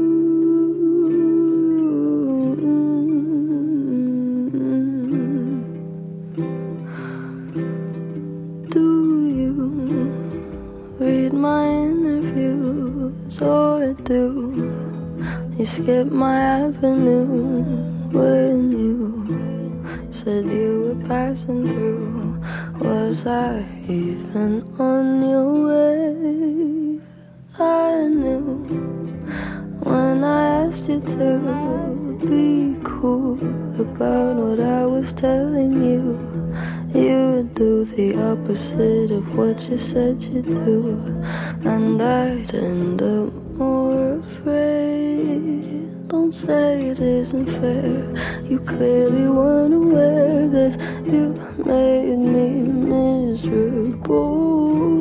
Read my interviews or do you skip my avenue when you said you were passing through? Was I even on your way? I knew when I asked you to be cool about what I was telling you. You would do the opposite of what you said you'd do, and I'd end up more afraid. Don't say it isn't fair. You clearly weren't aware that you made me miserable.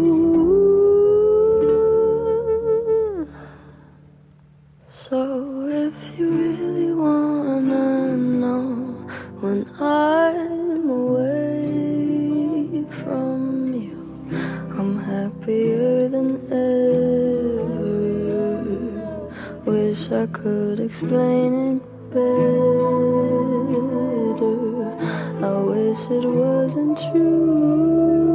So if you really wanna know when I'm away from you, I'm happier than ever. Wish I could explain it better. I wish it wasn't true.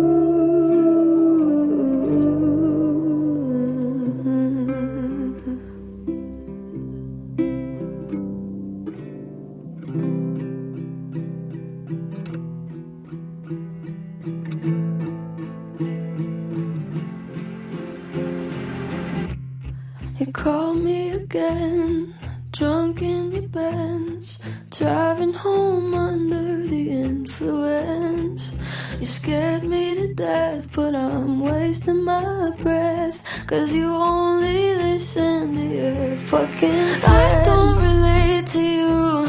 You called me again, drunk in your Benz, driving home under the influence. You scared me to death, but I'm wasting my breath, 'cause you only listen to your fucking friends. I don't relate to you,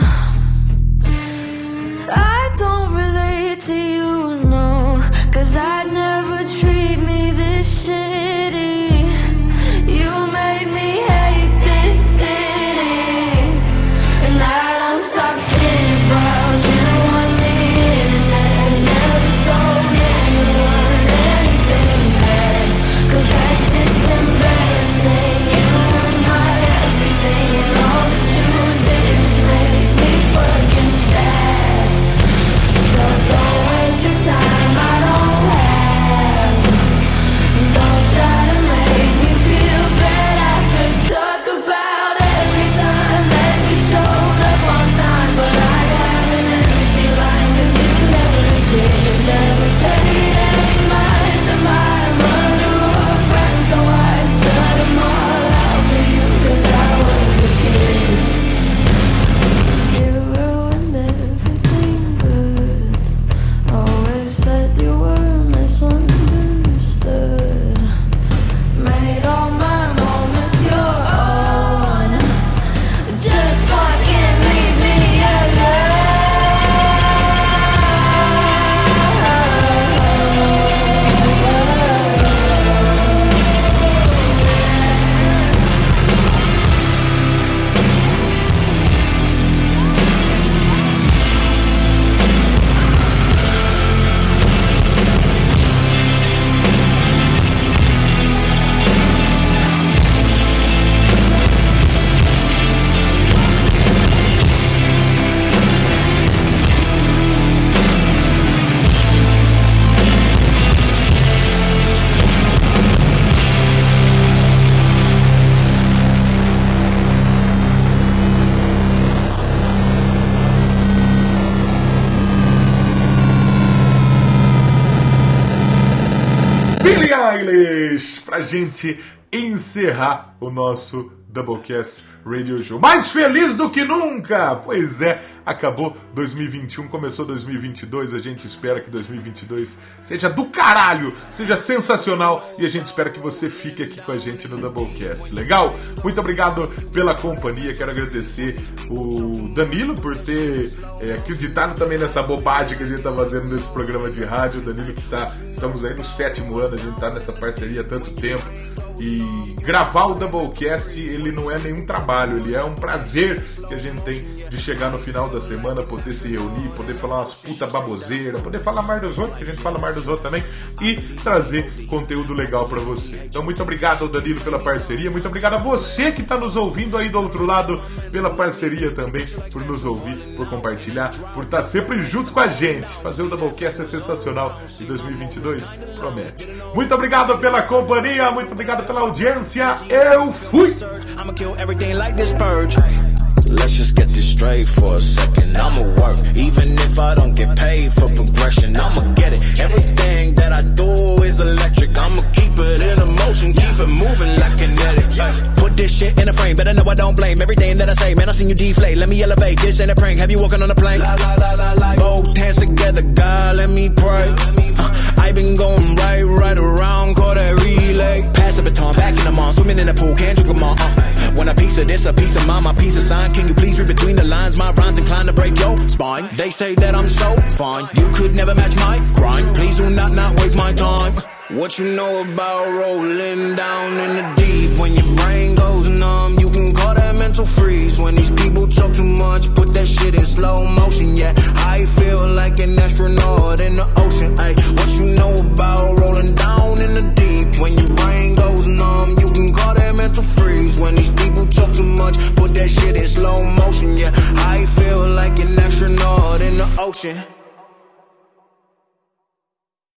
I don't relate to you, no, 'cause I'd never treat me this shitty. You made me hate this city, and I don't talk shit about you on the internet. Never told anyone anything bad, 'cause that shit's embarrassing. You were my everything, and all that you did pra gente encerrar o nosso Doublecast Radio Show. Mais feliz do que nunca! Pois é, acabou 2021, começou 2022, a gente espera que 2022 seja do caralho, seja sensacional, e a gente espera que você fique aqui com a gente no Doublecast, legal? Muito obrigado pela companhia, quero agradecer o Danilo por ter acreditado também nessa bobagem que a gente tá fazendo nesse programa de rádio. O Danilo que estamos aí no 7º ano, a gente tá nessa parceria há tanto tempo, e gravar o Doublecast, ele não é nenhum trabalho, ele é um prazer que a gente tem de chegar no final da semana, poder se reunir, poder falar umas puta baboseiras, poder falar mais dos outros, que a gente fala mais dos outros também, e trazer conteúdo legal pra você. Então muito obrigado ao Danilo pela parceria, muito obrigado a você que tá nos ouvindo aí do outro lado pela parceria também, por nos ouvir, por compartilhar, por estar sempre junto com a gente. Fazer o Doublecast é sensacional e 2022 promete. Muito obrigado pela companhia, muito obrigado pela audiência, eu fui! I'ma kill everything like this purge. Let's just get this straight for a second. I'ma work, even if I don't get paid for progression. I'ma get it. Everything that I do is electric. I'ma keep it in motion, keep it moving like kinetic. Put this shit in a frame, better know I don't blame everything that I say. Man, I seen you deflate. Let me elevate. This ain't a prank. Have you walking on a plane? Both hands together, God, let me pray. I've been going right around, call that relay. Pass the baton, back in the mall, swimming in the pool, can't drink them all. Want a piece of this, a piece of mine, my piece of sign. Can you please read between the lines? My rhymes inclined to break your spine. They say that I'm so fine, you could never match my grind. Please do not waste my time. What you know about rolling down in the deep? When your brain goes numb, you can call that mental freeze. When these people talk too much, put that shit in slow motion. Yeah, I feel like an astronaut in the ocean. Ay, what you know about rolling down in the deep? When your brain goes numb, you can call that mental freeze. When these people talk too much, put that shit in slow motion. Yeah, I feel like an astronaut in the ocean.